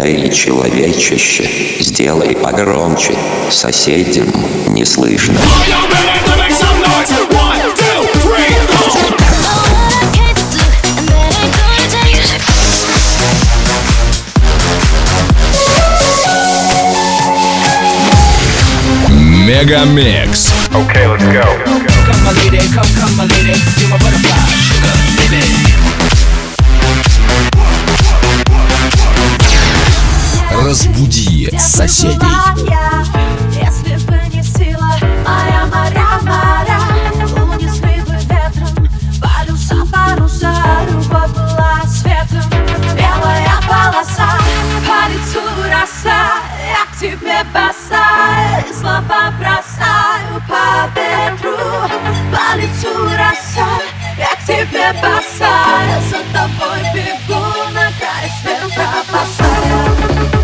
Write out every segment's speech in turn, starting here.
Эй, человечище, сделай погромче, соседям не слышно. Мегамикс. Okay, let's go. Come my lady, come my lady, you're my butterfly, sugar, baby. Разбуди соседей. Если бы не сила, моя моря, унесли бы ветром паруса, любовь была светом, белая полоса, по лицу роса, я к тебе бросаю, слова бросаю по ветру, по лицу роса, я к тебе бросаю, за тобой бегу, на край света бросаю.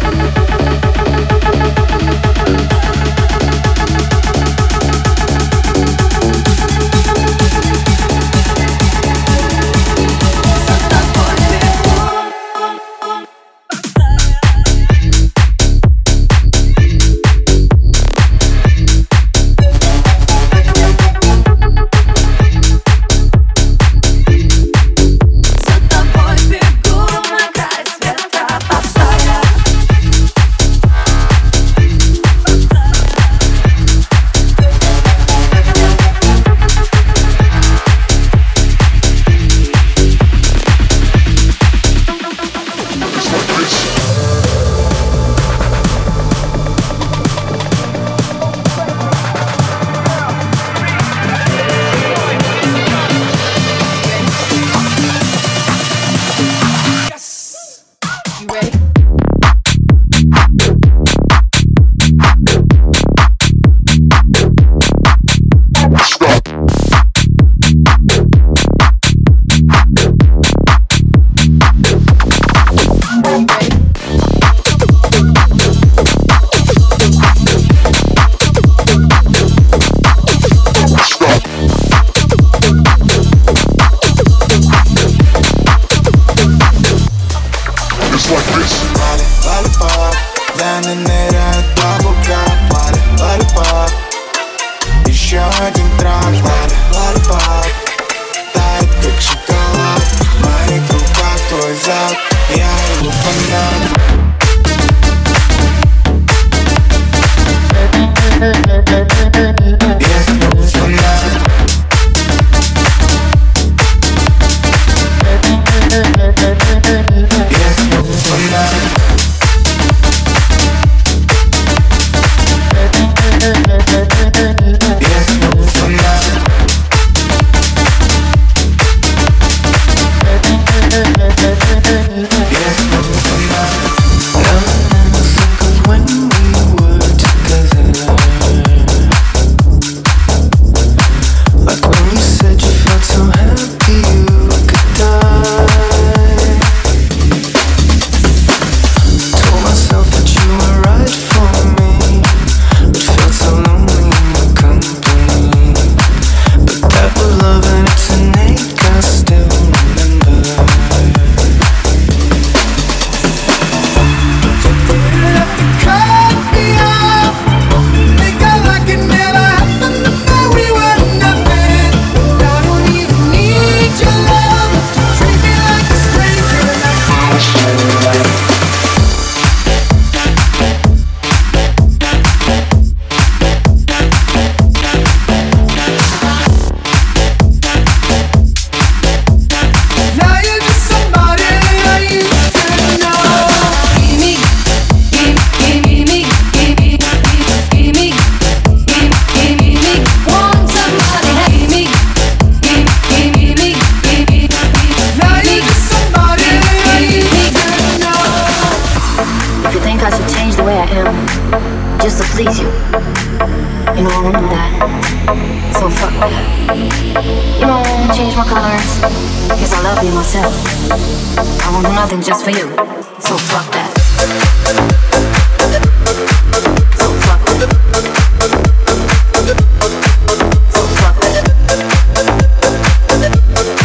Just for you, so fuck that.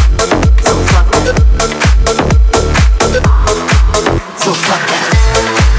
So fuck that.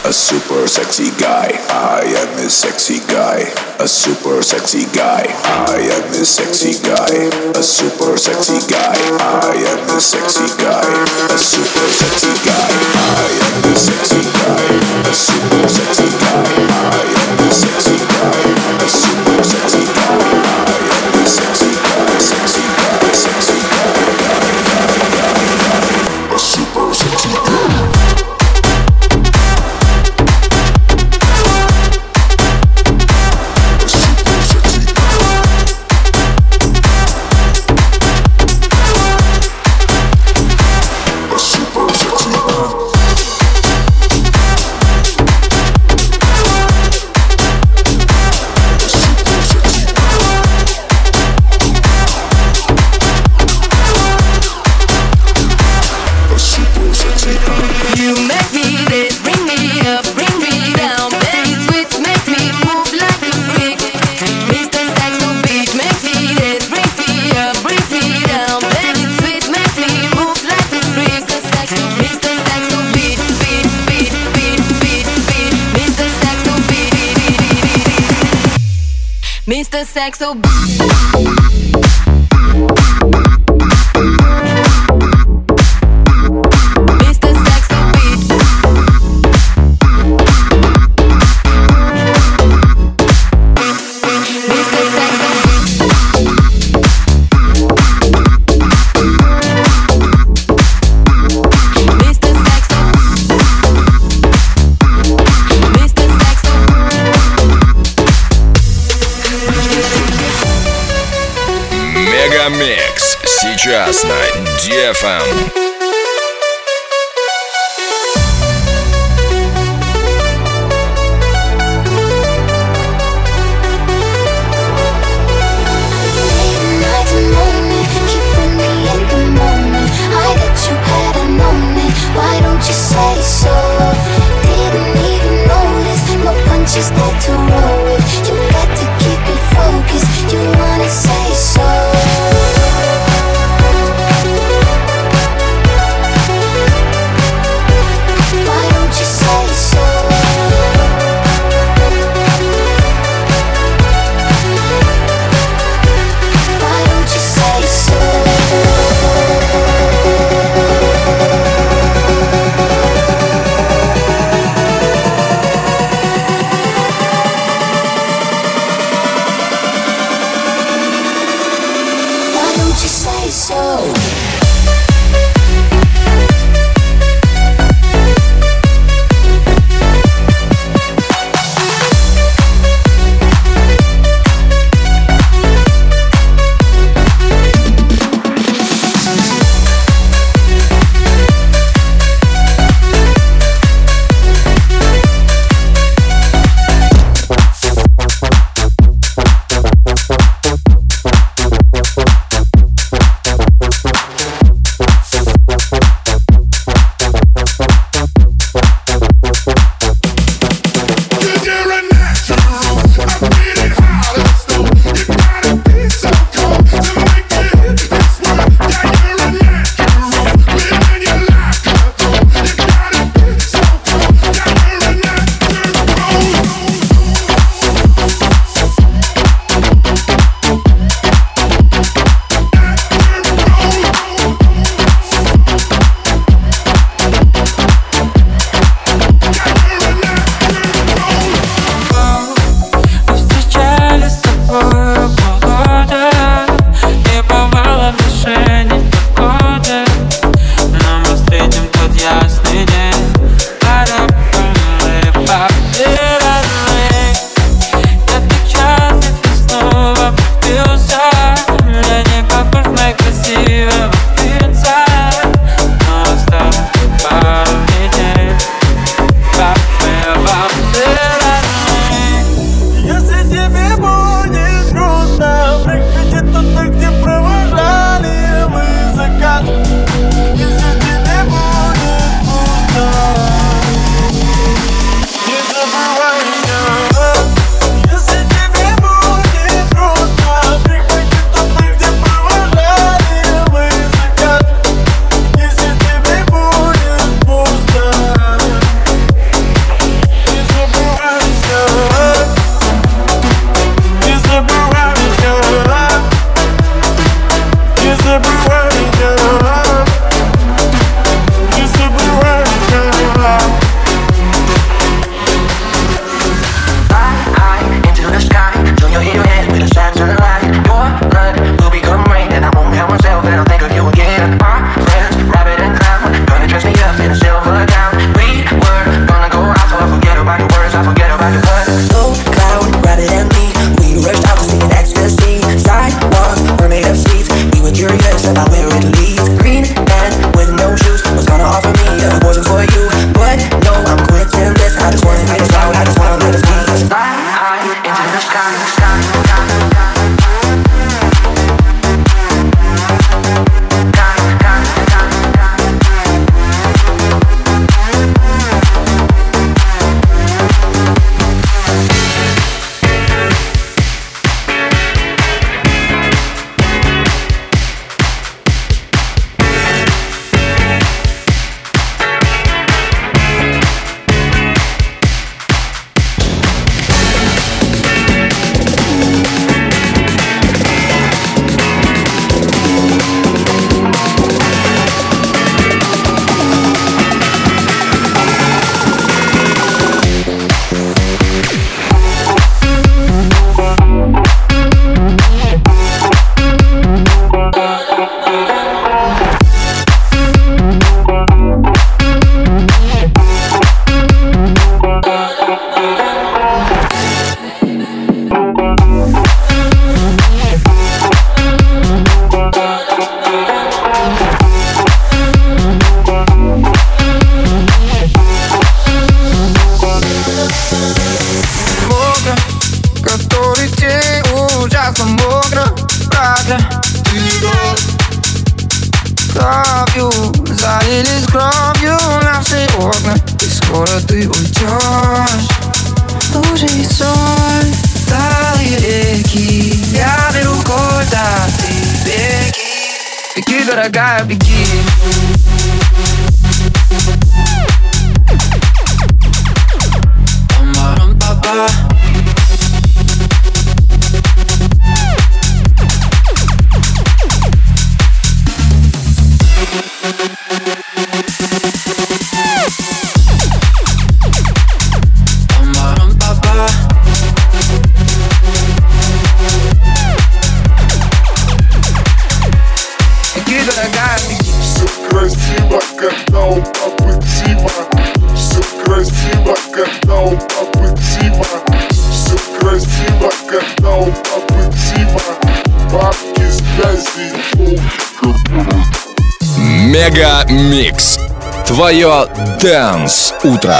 a super sexy guy. I am this sexy guy, a super sexy guy. I am this sexy guy, a super sexy guy. I am this sexy guy, a super sexy guy. I am this sexy guy, a super sexy guy. I am this sexy guy, a super sexy guy. I am this sexy guy, sexy guy, sexy guy, a super sexy guy. Mr. Saxo. Мегамикс сейчас на DFM. Just got to roll with. You got to keep it focused. You wanna say so. когда ты уйдешь. Лужи и соль, талые реки, я беру куда ты беги. Беги, дорогая, беги. Пам-парам-па-па. Красиво, когда у папы Тима. Все красиво, когда у папы Тима. Все красиво, когда у папы Тима. Бабки, связи, Мега Микс. Твое Dance утро.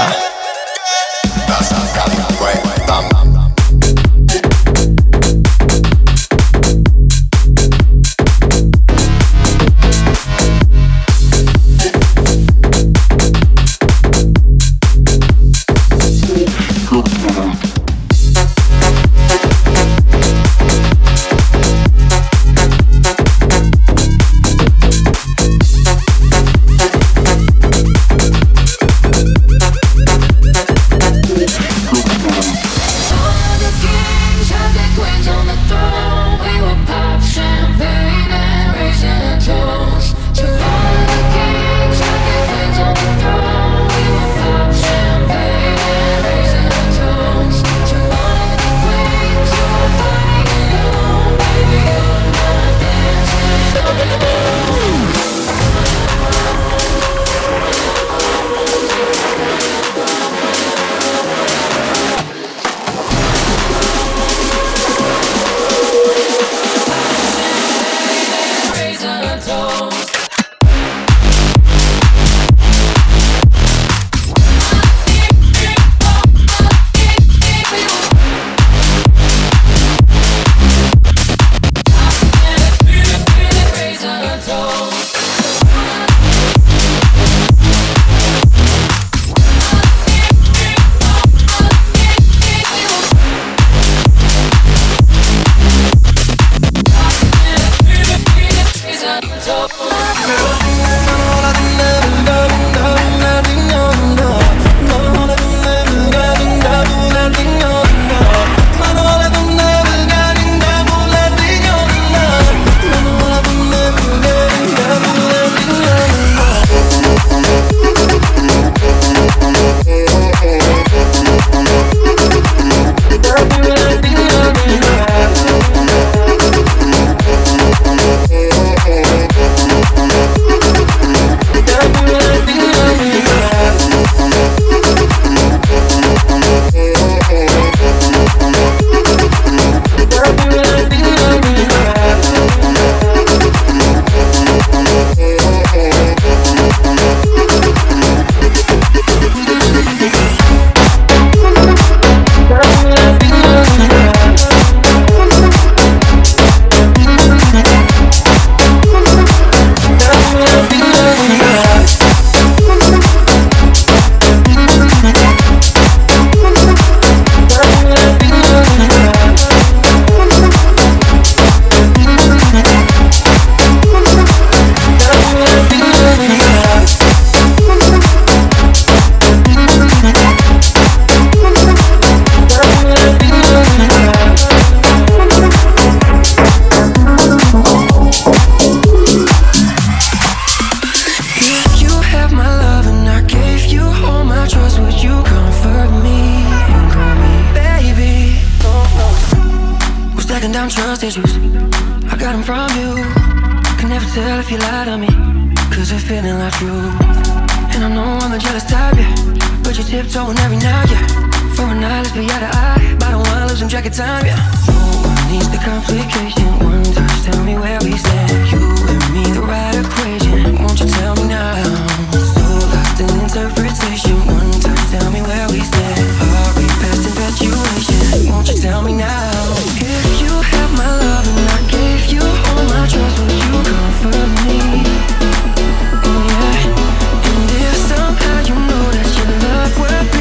trust issues, I got them from you. Can never tell if you lie to me, cause you're feeling like truth. And I know I'm a jealous type, yeah, but you're tiptoeing every night, yeah. For a night, let's be eye to eye, but I don't wanna lose some track of time, yeah. No one needs the complication, one touch, tell me where we stand. You and me, the right equation, won't you tell me now? So lost in interpretation, one touch, tell me where we stand. Are we past infatuation, won't you tell me now? If you have my love and I gave you all my trust, would you comfort me? Oh yeah. And if somehow you know that your love would be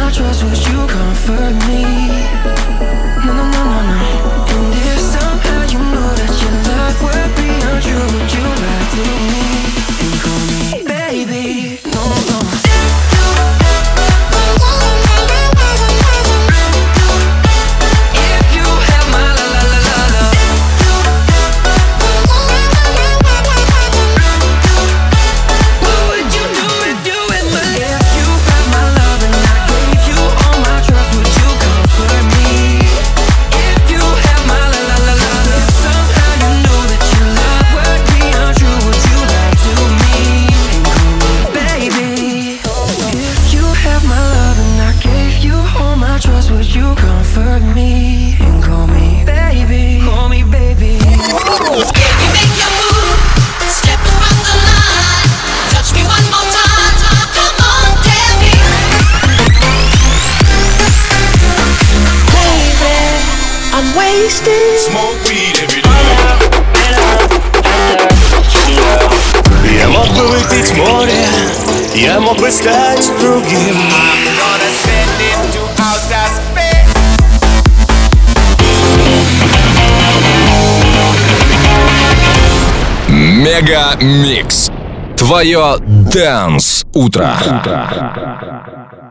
my trust, would you comfort me? No, no, no, no, no. And if somehow you know that your love would be untrue, would you lie to me and call me baby? No, no. If you have my la la la la la, what would you do if you had my? If you had my love and I gave you all my trust, would you comfort me? If you had my la la la la, if somehow you knew that your love would be untrue, would you lie to me and call me baby? If you had my love and I gave you all my trust, would you comfort me and call me baby? Call me baby. If you make your move, step across the line, touch me one more time, come on, baby. Baby, I'm wasted. Smoke weed every day. Я мог бы выпить море, я мог бы стать другим. Мега Микс. Твое Dance утро.